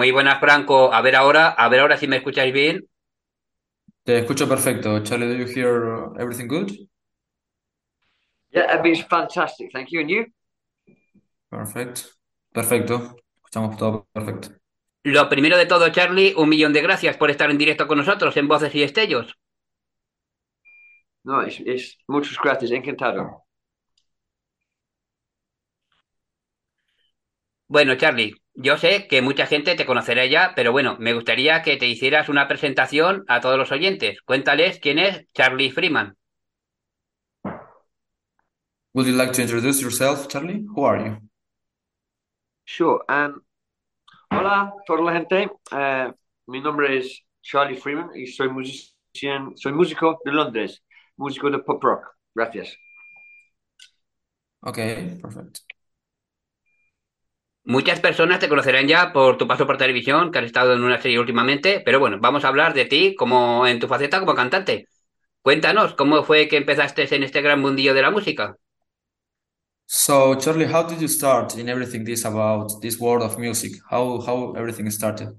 Muy buenas, Franco. A ver ahora si me escucháis bien. Te escucho perfecto. Charlie, do you hear everything good? Yeah, Abby's fantastic. Thank you. And you? Perfect. Perfecto. Escuchamos todo perfecto. Lo primero de todo, Charlie, un millón de gracias por estar en directo con nosotros en Voces y Destellos. No, it's muchas gracias. Encantado. Bueno, Charlie, yo sé que mucha gente te conocerá ya, pero bueno, me gustaría que te hicieras una presentación a todos los oyentes. Cuéntales quién es Charlie Freeman. Would you like to introduce yourself, Charlie? Who are you? Sure. Hola, toda la gente. Mi nombre es Charlie Freeman y soy músico de Londres, músico de pop rock. Gracias. Okay, perfect. Muchas personas te conocerán ya por tu paso por televisión, que has estado en una serie últimamente, pero bueno, vamos a hablar de ti como en tu faceta como cantante. Cuéntanos, ¿cómo fue que empezaste en este gran mundillo de la música? So, Charlie, how did you start in everything this about this world of music? How everything started?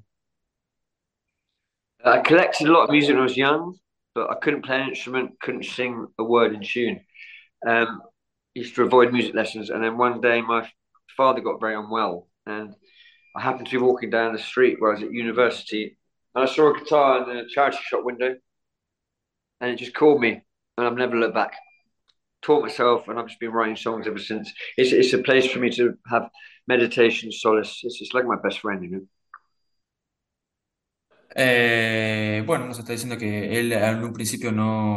I collected a lot of music when I was young, but I couldn't play an instrument, couldn't sing a word in tune. Um, Used to avoid music lessons, and then one day my father got very unwell, and I happened to be walking down the street where I was at university, and I saw a guitar in the charity shop window, and it just called me, and I've never looked back. Taught myself, and I've just been writing songs ever since. It's a place for me to have meditation, solace. It's like my best friend, you know. Bueno, nos está diciendo que él en un principio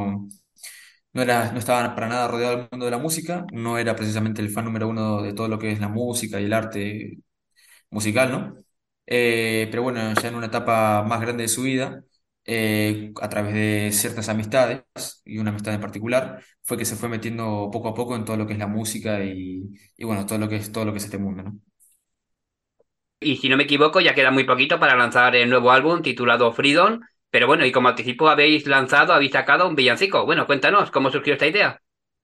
no estaba para nada rodeado del mundo de la música, no era precisamente el fan número uno de todo lo que es la música y el arte musical, ¿no? Pero bueno, ya en una etapa más grande de su vida, a través de ciertas amistades y una amistad en particular, fue que se fue metiendo poco a poco en todo lo que es la música y bueno, todo lo que es este mundo, ¿no? Y si no me equivoco, ya queda muy poquito para lanzar el nuevo álbum titulado Freedom. Pero bueno, y como anticipo habéis sacado un villancico. Bueno, cuéntanos, ¿cómo surgió esta idea?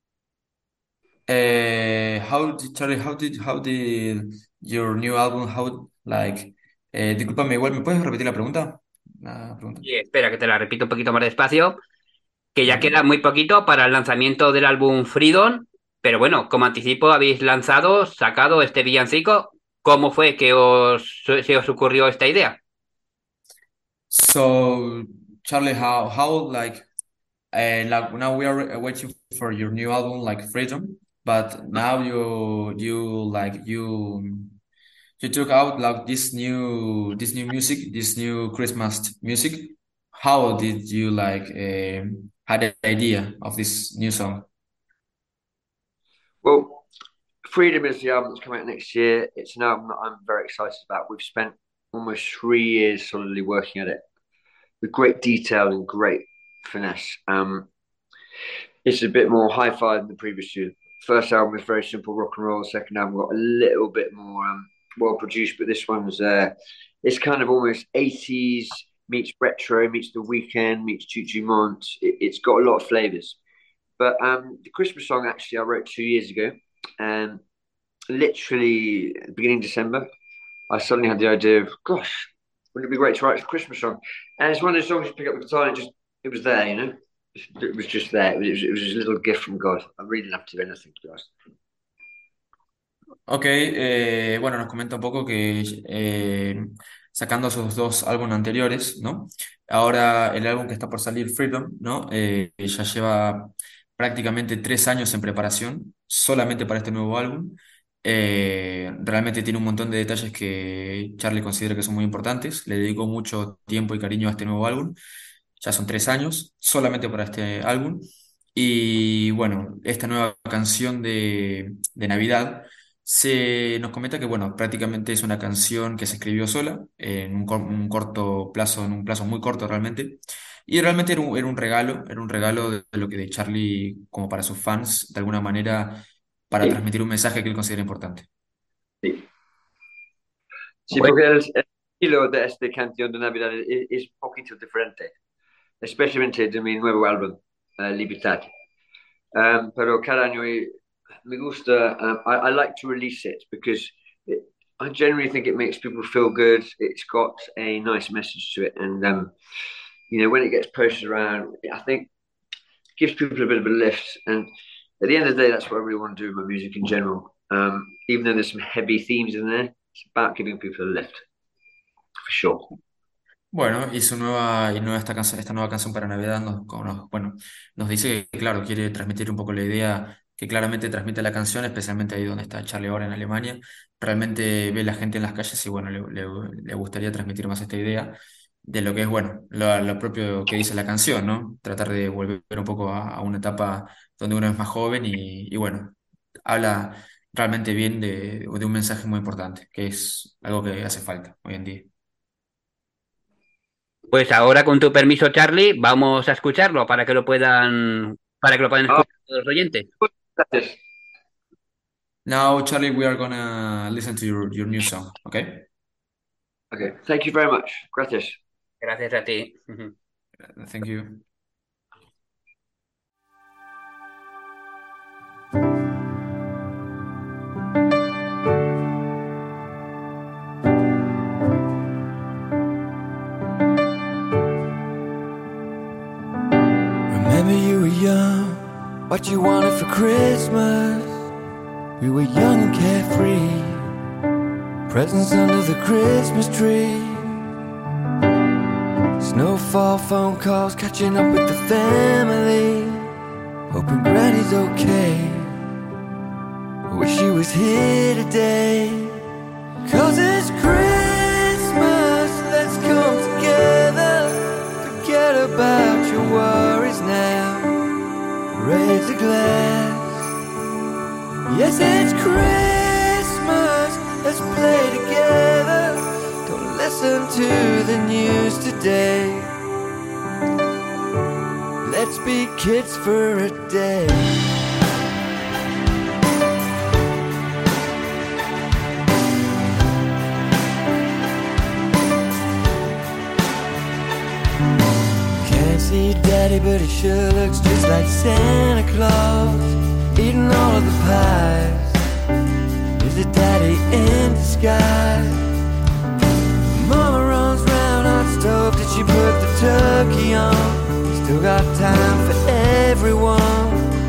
How did your new album, discúlpame, igual, ¿me puedes repetir la pregunta? La pregunta. Y espera, que te la repito un poquito más despacio, que ya queda Vale. muy poquito para el lanzamiento del álbum Freedom. Pero bueno, como anticipo habéis sacado este villancico. ¿Cómo fue que se os ocurrió esta idea? So, Charlie, now we are waiting for your new album, like Freedom, but now you took out like this new music, this new Christmas music. How did you had the idea of this new song? Well, Freedom is the album that's coming out next year. It's an album that I'm very excited about. We've spent almost 3 years solidly working at it with great detail and great finesse. It's a bit more hi-fi than the previous two. First album was very simple rock and roll. Second album got a little bit more well produced, but this one's it's kind of almost 80s meets retro meets The Weekend meets Juju Mont. It's got a lot of flavors. But the Christmas song actually I wrote 2 years ago, and literally beginning of December, I suddenly had the idea of, gosh, wouldn't it be great to write a Christmas song? And it's one of those songs you pick up the guitar and it was there, you know. It was just there. It was a little gift from God. I really didn't have to do anything, to be honest. Ok, bueno, nos comenta un poco que sacando sus dos álbumes anteriores, ¿no? Ahora el álbum que está por salir, Freedom, ¿no? Ya lleva prácticamente 3 años en preparación solamente para este nuevo álbum. Realmente tiene un montón de detalles que Charlie considera que son muy importantes. Le dedicó mucho tiempo y cariño a este nuevo álbum. Ya son 3 años solamente para este álbum. Y bueno, esta nueva canción de Navidad nos comenta que, bueno, prácticamente es una canción que se escribió sola en un corto plazo, en un plazo muy corto realmente. Y realmente era un regalo de lo que de Charlie como para sus fans, de alguna manera, para Sí, transmitir un mensaje que él considera importante. sí. Sí, porque el estilo de esta canción de Navidad es un poquito diferente, especialmente de mi nuevo álbum, Libertad. Pero cada año me gusta, I like to release it because I generally think it makes people feel good. It's got a nice message to it, and when it gets posted around, I think it gives people a bit of a lift. And at the end of the day, that's what I really want to do with my music in general. Even though there's some heavy themes in there, it's about giving people a lift for sure. Bueno, y esta nueva canción para Navidad bueno, nos dice que, claro, quiere transmitir un poco la idea que claramente transmite la canción, especialmente ahí donde está Charlie ahora en Alemania. Realmente ve la gente en las calles y, bueno, le gustaría transmitir más esta idea de lo que es, bueno, lo propio que dice la canción, ¿no? Tratar de volver un poco a una etapa donde uno es más joven y, bueno, habla realmente bien de un mensaje muy importante, que es algo que hace falta hoy en día. Pues ahora, con tu permiso, Charlie, vamos a escucharlo para que lo puedan Oh, escuchar todos los oyentes. gracias. Now, Charlie, we are gonna listen to your new song, okay? Okay, thank you very much. Gracias. Gracias a ti. Thank you. Remember you were young, what you wanted for Christmas. We were young and carefree, presents under the Christmas tree. Snowfall, phone calls, catching up with the family, hoping Granny's okay. I wish she was here today. 'Cause it's Christmas, let's come together. Forget about your worries now. Raise a glass. Yes, it's Christmas, let's play together. Don't listen to the news today. Let's be kids for a day. Can't see Daddy, but he sure looks just like Santa Claus, eating all of the pies. Is it Daddy in disguise? Mama runs round on stove, did she put the turkey on? Still got time for everyone,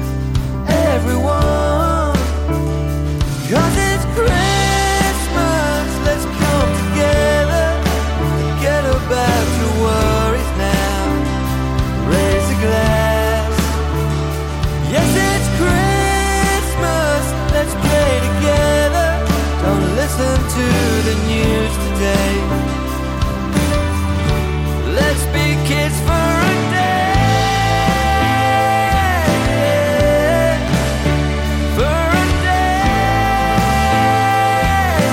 everyone. 'Cause it's Christmas, let's come together. Forget about your worries now. Raise a glass. Yes, it's Christmas, let's play together. Don't listen to the news today. Let's be kids for a day. For a day.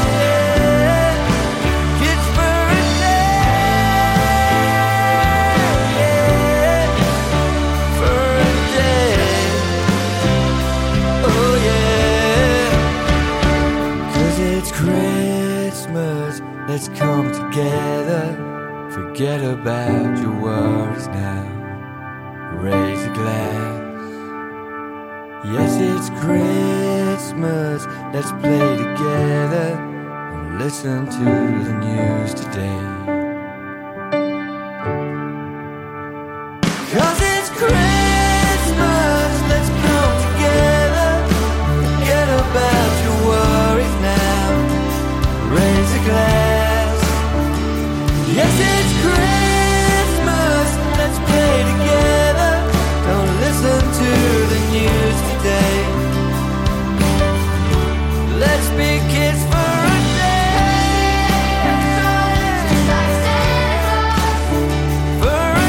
Kids for a day. For a day. Oh yeah. 'Cause it's Christmas, let's come together. Forget about your worries now. Raise a glass. Yes, it's Christmas, let's play together. And listen to the news today. 'Cause it's Christmas, let's come together. Forget about your worries now. Raise a glass. Yes, it's Christmas, let's play together. Don't listen to the news today. Let's be kids for a day. For a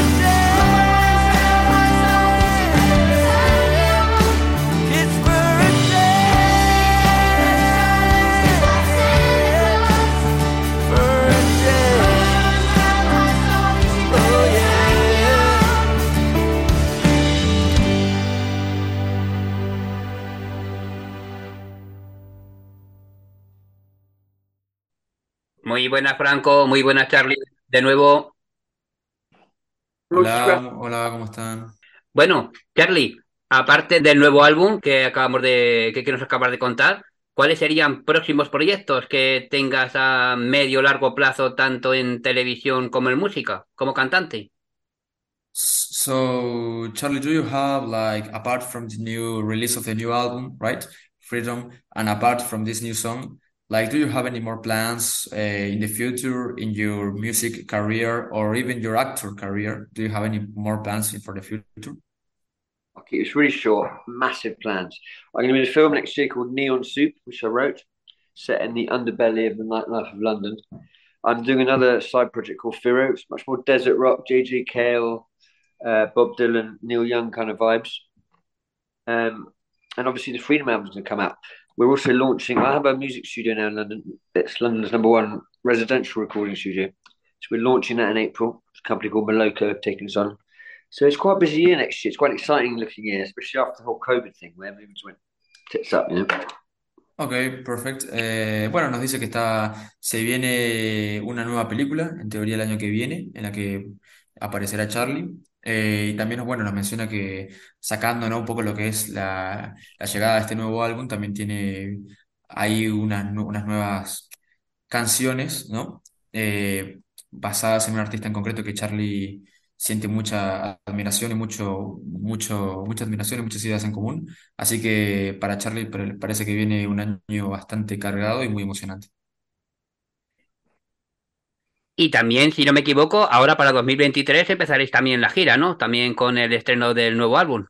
day. Kids for a day. For a day. Oh yeah. Muy buenas, Franco. Muy buenas, Charlie. De nuevo. Muchas gracias. Hola, hola, ¿cómo están? Bueno, Charlie, aparte del nuevo álbum que que nos acabas de contar, ¿Cuáles serían próximos proyectos que tengas a medio o largo plazo, tanto en televisión como en música, como cantante? So, Charlie, do you have like apart from the new release of the new album, right? Freedom, and apart from this new song, like, do you have any more plans in the future in your music career or even your actor career? Do you have any more plans for the future? I'll keep this really short. Massive plans. I'm going to be in a film next year called Neon Soup, which I wrote, set in the underbelly of the nightlife of London. I'm doing another side project called Firo. It's much more desert rock, JJ Cale, Bob Dylan, Neil Young kind of vibes. Um, and obviously the Freedom album's going to come out. We're also launching. I have a music studio now in London. It's London's number one residential recording studio. So we're launching that in April. It's a company called Moloko taking us on. So it's quite a busy year next year. It's quite an exciting looking year, especially after the whole COVID thing where everything just went tits up, you know. Ok, perfecto. Bueno, nos dice que se viene una nueva película, en teoría el año que viene, en la que aparecerá Charlie. Y también, bueno, nos menciona que sacando, ¿no? Un poco lo que es la llegada de este nuevo álbum, también tiene ahí unas nuevas canciones, ¿no? Basadas en un artista en concreto que Charlie siente mucha admiración y mucha admiración y muchas ideas en común. Así que para Charlie parece que viene un año bastante cargado y muy emocionante. Y también, si no me equivoco, ahora para 2023 empezaréis también la gira, ¿no? También con el estreno del nuevo álbum.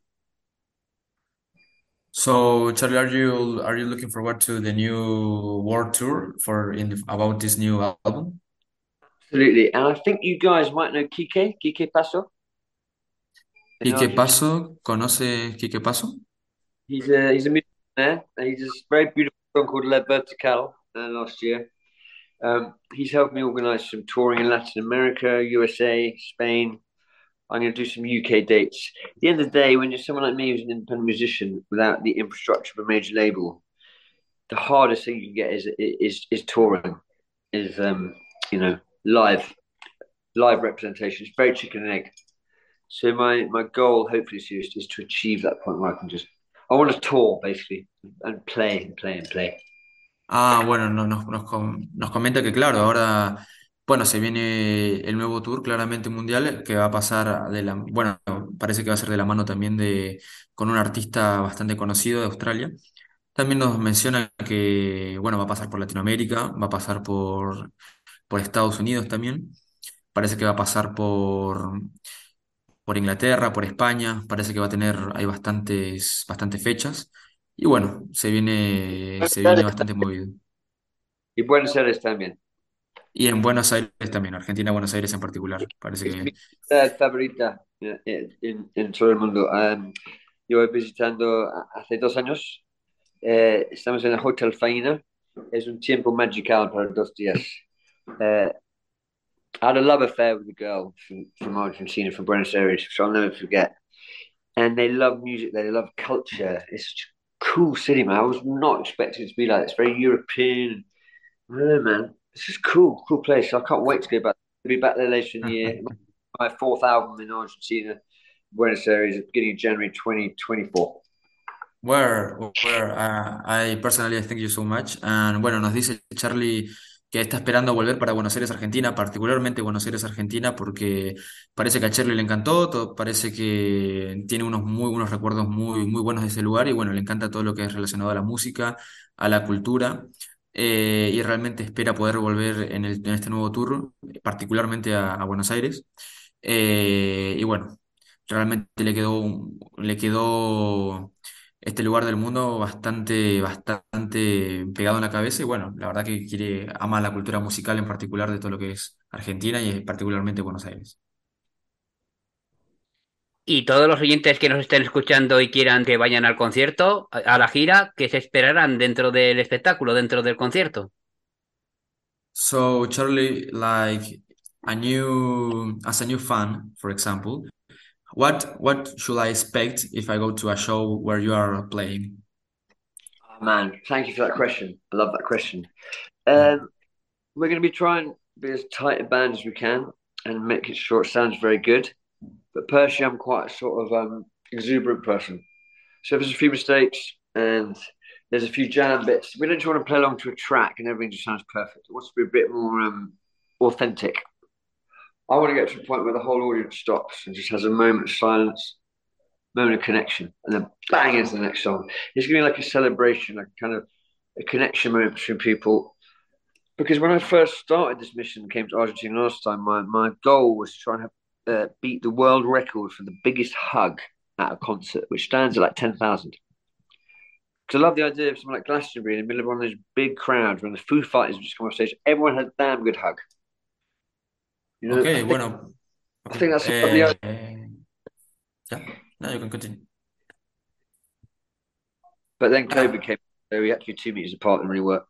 So, Charlie, are you looking forward to the new world tour about this new album? Absolutely. And I think you guys might know Kike Paso in Quique Argentina. Paso, ¿conoce Quique Paso? He's a musician there, and he's a very beautiful song called La Vertical last year. He's helped me organise some touring in Latin America, USA, Spain. I'm going to do some UK dates. At the end of the day, when you're someone like me who's an independent musician without the infrastructure of a major label, the hardest thing you can get is touring, is you know live representation. It's very chicken and egg. So my goal, hopefully, is to achieve that point where I want to tour basically and play and play and play. Ah, bueno, nos comenta que claro, ahora, bueno, se viene el nuevo tour claramente mundial que va a pasar bueno, parece que va a ser de la mano también con un artista bastante conocido de Australia. También nos menciona que, bueno, va a pasar por Latinoamérica, va a pasar por Estados Unidos también, parece que va a pasar por Inglaterra, por España, parece que va a tener, hay bastantes fechas. Y bueno, se viene bastante movido. Y Buenos Aires también. Y en Buenos Aires también, Argentina, Buenos Aires en particular. Parece Es mi que. ciudad favorita en todo el mundo. Yo voy visitando hace 2 años. Estamos en el Hotel Faina. Es un tiempo magical para 2 días. Uh, I had a love affair with a girl from Argentina, from Buenos Aires, which I'll never forget. And they love music there, they love culture. It's such a cool city, man. I was not expecting it to be like this. Very European. I don't know, man. It's just cool place. I can't wait to go back. I'll be back there later in the year. My fourth album in Argentina, Buenos Aires, at the beginning of January 2024. I personally thank you so much. And bueno, nos dice Charlie que está esperando volver para Buenos Aires, Argentina, particularmente Buenos Aires, Argentina, porque parece que a Charlie le encantó, parece que tiene unos recuerdos muy buenos de ese lugar y bueno, le encanta todo lo que es relacionado a la música, a la cultura, y realmente espera poder volver en este nuevo tour, particularmente a Buenos Aires. Y bueno, realmente le quedó este lugar del mundo bastante pegado en la cabeza y bueno, la verdad que ama la cultura musical en particular de todo lo que es Argentina y particularmente Buenos Aires. Y todos los oyentes que nos estén escuchando y quieran que vayan al concierto, a la gira, ¿qué se esperarán dentro del espectáculo, dentro del concierto? So Charlie, like as a new fan, for example, what should I expect if I go to a show where you are playing? Oh, man, thank you for that question. I love that question. Mm. We're going to be trying to be as tight a band as we can and make it sure it sounds very good. But personally, I'm quite a sort of exuberant person. So if there's a few mistakes and There's a few jam bits. We don't just want to play along to a track and everything just sounds perfect. It wants to be a bit more authentic. I want to get to a point where the whole audience stops and just has a moment of silence, moment of connection, and then bang into the next song. It's going to be like a celebration, like kind of a connection moment between people. Because when I first started this mission, came to Argentina last time, my goal was to try and beat the world record for the biggest hug at a concert, which stands at like 10,000. Because I love the idea of something like Glastonbury in the middle of one of those big crowds when the Foo Fighters just come off stage. Everyone had a damn good hug. You Ok, know, bueno, I ok. think that's a lovely idea. Yeah, no, you can continue. But then COVID Ah, came, so we had to be 2 meters apart and really work.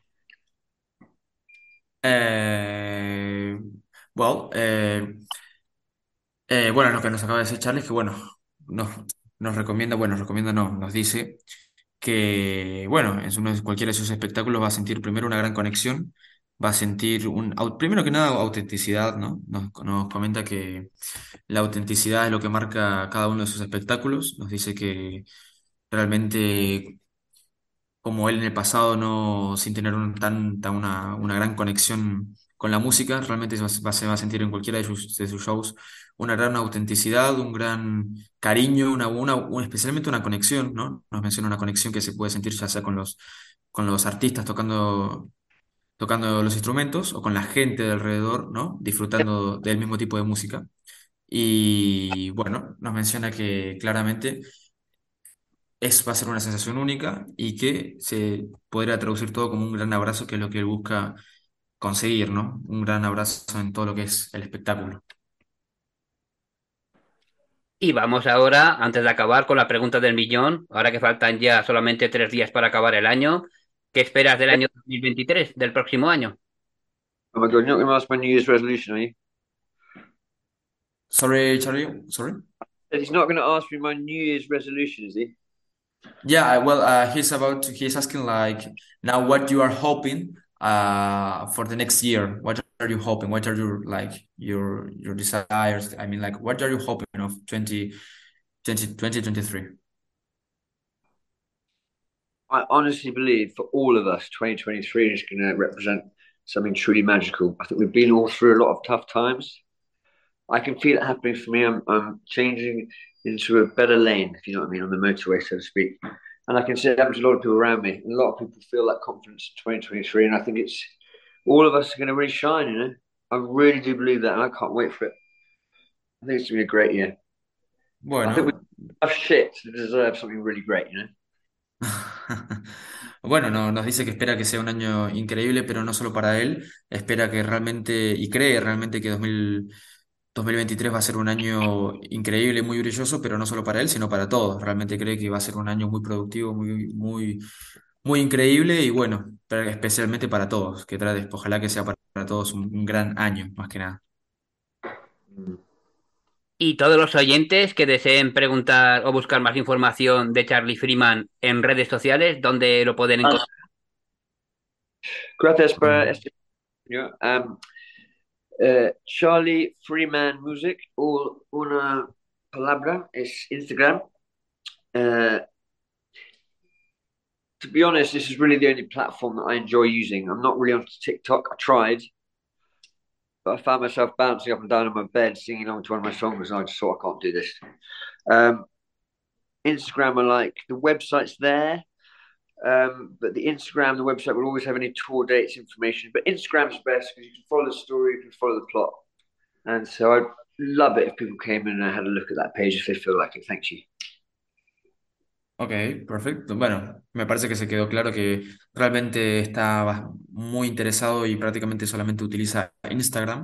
eh, well, bueno, lo que nos acaba de decir Charlie es que, bueno, nos, nos recomienda, bueno, nos recomienda, no, nos dice que, bueno, en cualquiera de sus espectáculos va a sentir primero una gran conexión, va a sentir primero que nada autenticidad, ¿no? Nos comenta que la autenticidad es lo que marca cada uno de sus espectáculos, nos dice que realmente como él en el pasado no, sin tener una gran conexión con la música, realmente se va a sentir en cualquiera de sus shows una gran autenticidad, un gran cariño, especialmente una conexión, ¿no? Nos menciona una conexión que se puede sentir ya sea con los artistas tocando los instrumentos o con la gente de alrededor, ¿no? Disfrutando del mismo tipo de música. Y bueno, nos menciona que claramente va a ser una sensación única y que se podría traducir todo como un gran abrazo, que es lo que él busca conseguir, ¿no? Un gran abrazo en todo lo que es el espectáculo. Y vamos ahora, antes de acabar, con la pregunta del millón. Ahora que faltan ya solamente 3 días para acabar el año, ¿qué esperas del año 2023, del próximo año? Oh my God, you're not going to ask my New Year's resolution, are you? Sorry, Charlie, sorry. He's not going to ask me my New Year's resolution, is he? Yeah, well, he's asking like now what you are hoping for the next year. What are you hoping? What are your like your desires? I mean, like what are you hoping of 2023? I honestly believe for all of us, 2023 is going to represent something truly magical. I think we've been all through a lot of tough times. I can feel it happening for me. I'm changing into a better lane, if you know what I mean, on the motorway, so to speak. And I can see it happen to a lot of people around me. And a lot of people feel that confidence in 2023. And I think it's all of us are going to really shine, you know. I really do believe that. And I can't wait for it. I think it's going to be a great year. I think we Bueno, have shit to deserve something really great, you know. bueno, nos dice que espera que sea un año increíble, pero no solo para él, espera que realmente y cree realmente que 2023 va a ser un año increíble, muy brilloso, pero no solo para él, sino para todos. Realmente cree que va a ser un año muy productivo, muy increíble y bueno, pero especialmente para todos, ojalá que sea para todos un gran año, más que nada. Mm. Y todos los oyentes que deseen preguntar o buscar más información de Charlie Freeman en redes sociales, ¿dónde lo pueden encontrar? Gracias por Ok. este. Charlie Freeman Music, o una palabra, es Instagram. Uh, to be honest, this is really the only platform that I enjoy using. I'm not really on TikTok. I tried, but I found myself bouncing up and down in my bed singing along to one of my songs, and I just thought I can't do this. Um, Instagram, I like the website's there, but the Instagram, the website will always have any tour dates information. But Instagram's best because you can follow the story, you can follow the plot, and so I'd love it if people came in and had a look at that page if they feel like it. Thank you. Ok, perfecto. Bueno, me parece que se quedó claro que realmente está muy interesado y prácticamente solamente utiliza Instagram.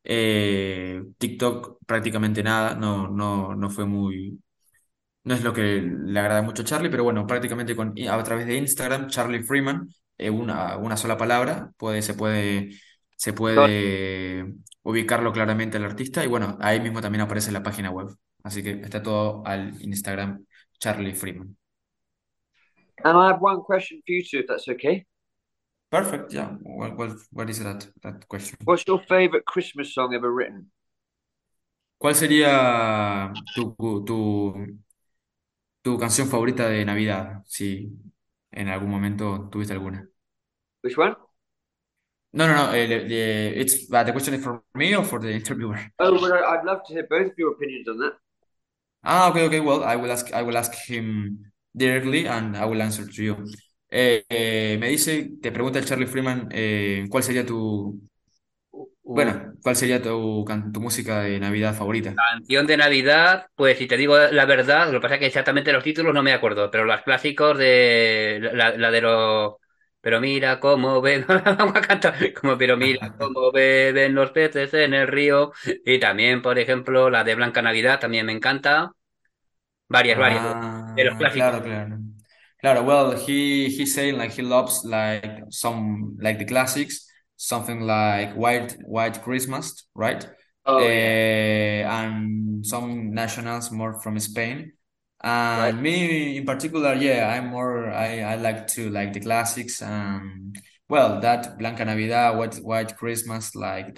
TikTok prácticamente nada, no fue no es lo que le agrada mucho a Charlie, pero bueno, prácticamente a través de Instagram, Charlie Freeman, una sola palabra, se puede ubicarlo claramente al artista y bueno, ahí mismo también aparece la página web. Así que está todo al Instagram Charlie Freeman. And I have one question for you two, if that's okay. Perfect, yeah. What is that question? What's your favorite Christmas song ever written? ¿Cuál sería tu canción favorita de Navidad? Sí. ¿En algún momento tuviste alguna? Which one? No, no, no. The question is for me or for the interviewer? Oh, well, I'd love to hear both of your opinions on that. Ah, okay, okay. Well, I will ask him directly and I will answer to you. Me dice, te pregunta el Charlie Freeman, ¿cuál sería Ooh, cuál sería tu música de Navidad favorita? Canción de Navidad, pues si te digo la verdad, lo que pasa es que exactamente los títulos no me acuerdo, pero los clásicos de la de los... Pero mira cómo ven, vamos a cantar, como pero mira cómo beben los peces en el río, y también, por ejemplo, la de Blanca Navidad también me encanta, varias de los Ah, clásicos. claro, claro. Claro, well, he's saying like he loves like some like the classics, something like White Christmas, right? oh yeah, And some nationals more from Spain. right. And me in particular, yeah, I like to like the classics. Well, that Blanca Navidad, White Christmas, like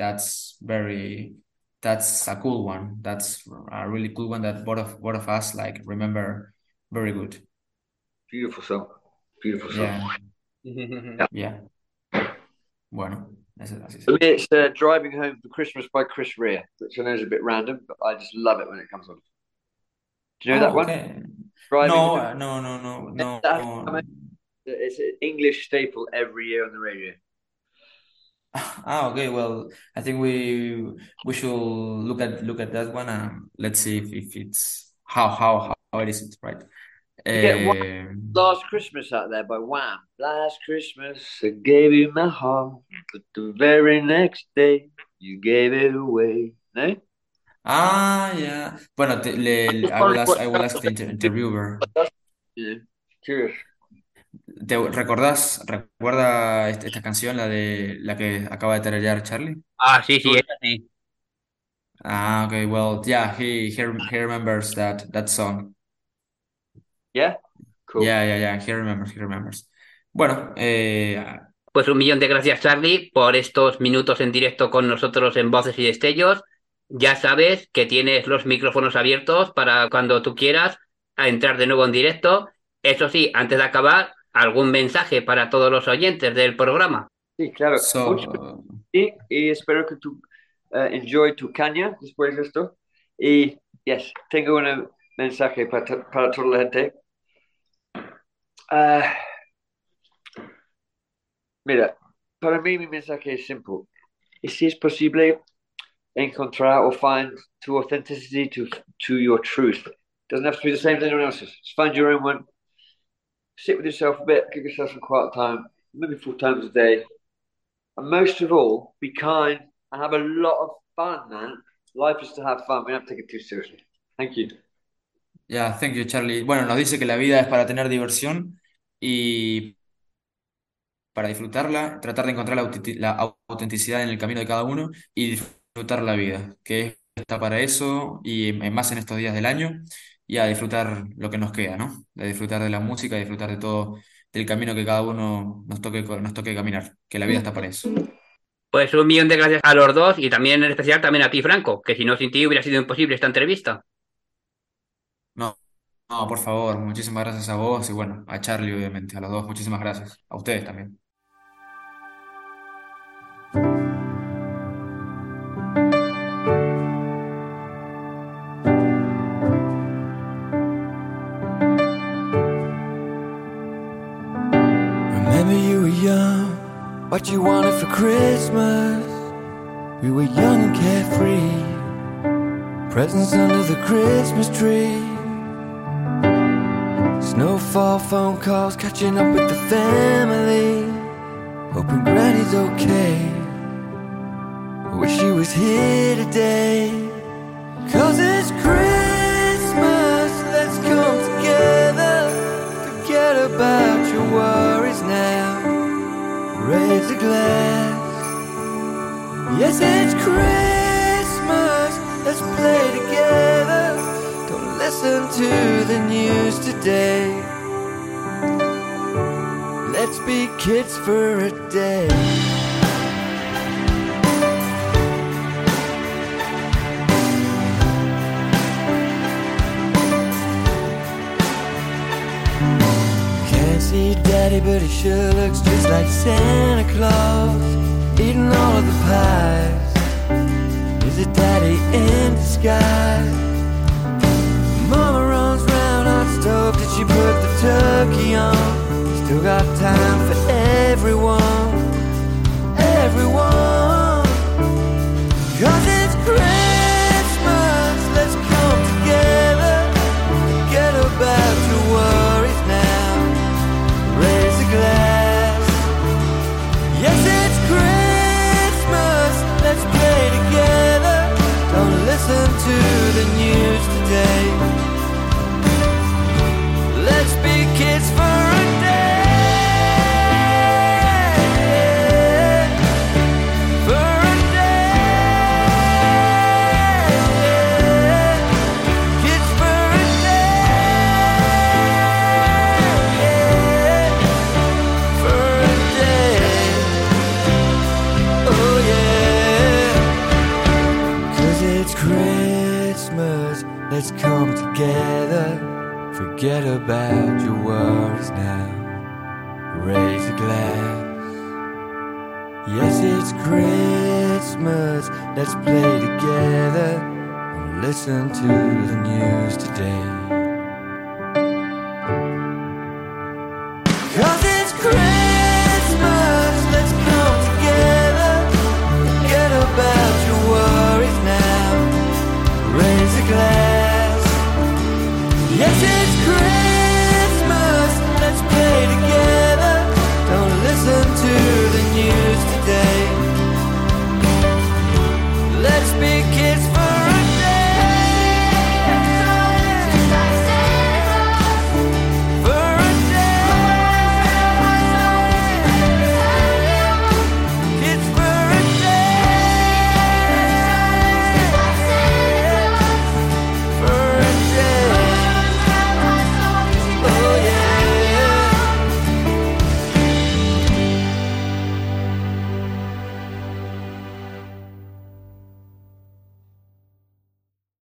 that's a cool one. That's a really cool one that both of us like remember very good. Beautiful song. Beautiful song. Yeah, Yeah. yeah. Bueno, así For sí. me, it's Driving Home for Christmas by Chris Rea, which I know is a bit random, but I just love it when it comes on. Do you know that Oh, one? okay. Driving No, Home. no. It's an English staple every year on the radio. Ah, okay. Well, I think we should look at that one and let's see if it's how it is, right? You get one Um, Last Christmas out there by Wham. Last Christmas I gave you my heart, but the very next day you gave it away. No? yeah. Bueno, Just wondering what I will ask the interviewer. you know, curious. Recuerda esta canción, la de la que acaba de tararear Charlie? Ah, sí, sí, esa sí. Ah, okay. Well, yeah, he remembers that song. Yeah? Cool. Yeah. He remembers. Bueno, Pues un millón de gracias, Charlie, por estos minutos en directo con nosotros en Voces y Destellos. Ya sabes que tienes los micrófonos abiertos para cuando tú quieras a entrar de nuevo en directo. Eso sí, antes de acabar, algún mensaje para todos los oyentes del programa. Sí, claro. Mucho so y espero que tú enjoy tu caña después de esto. Y, yes, tengo un mensaje para toda la gente. Ah, mira, para mí mi mensaje es simple. Y si es posible encontrar or find to authenticity to your truth. Doesn't have to be the same as anyone else's. Just find your own one. Sit with yourself a bit, give yourself some quiet time, maybe 4 times a day. And most of all, be kind and have a lot of fun, man. Life is to have fun. We don't have to take it too seriously. Thank you. yeah, thank you, Charlie. Bueno, nos dice que la vida es para tener diversión y para disfrutarla, tratar de encontrar la autenticidad en el camino de cada uno y disfrutar la vida, que está para eso y más en estos días del año y a disfrutar lo que nos queda, ¿no? De disfrutar de la música, de disfrutar de todo, del camino que cada uno nos toque caminar, que la vida está para eso. Pues un millón de gracias a los dos y también en especial también a ti, Franco, que si no sin ti hubiera sido imposible esta entrevista. No, no, por favor, muchísimas gracias a vos y bueno, a Charlie obviamente, a los dos, muchísimas gracias, a ustedes también. Remember you were young, what you wanted for Christmas. We were young and carefree, presents under the Christmas tree. Snowfall phone calls, catching up with the family, hoping Granny's okay. I wish she was here today. 'Cause it's Christmas, let's come together. Forget about your worries now. Raise a glass. Yes, it's Christmas, let's play together. Don't listen to the news today. Let's be kids for a day. Can't see Daddy daddy, but he sure looks just like Santa Claus, eating all of the pies. Is it daddy in disguise? Mama runs round on the stove, did she put the turkey on? Still got time for everyone, everyone. 'Cause it's Christmas, let's come together, forget about your worries now, raise a glass. Yes, it's Christmas, let's play together, don't listen to the news today. Let's be kids for a day, for a day, kids for a day, for a day. Oh yeah, 'cause it's Christmas, let's come together, forget about your worries now, raise a glass. Yes, it's Christmas, let's play together and listen to the news today. 'Cause it's Christmas, let's come together, forget about your worries now, raise a glass. Yes,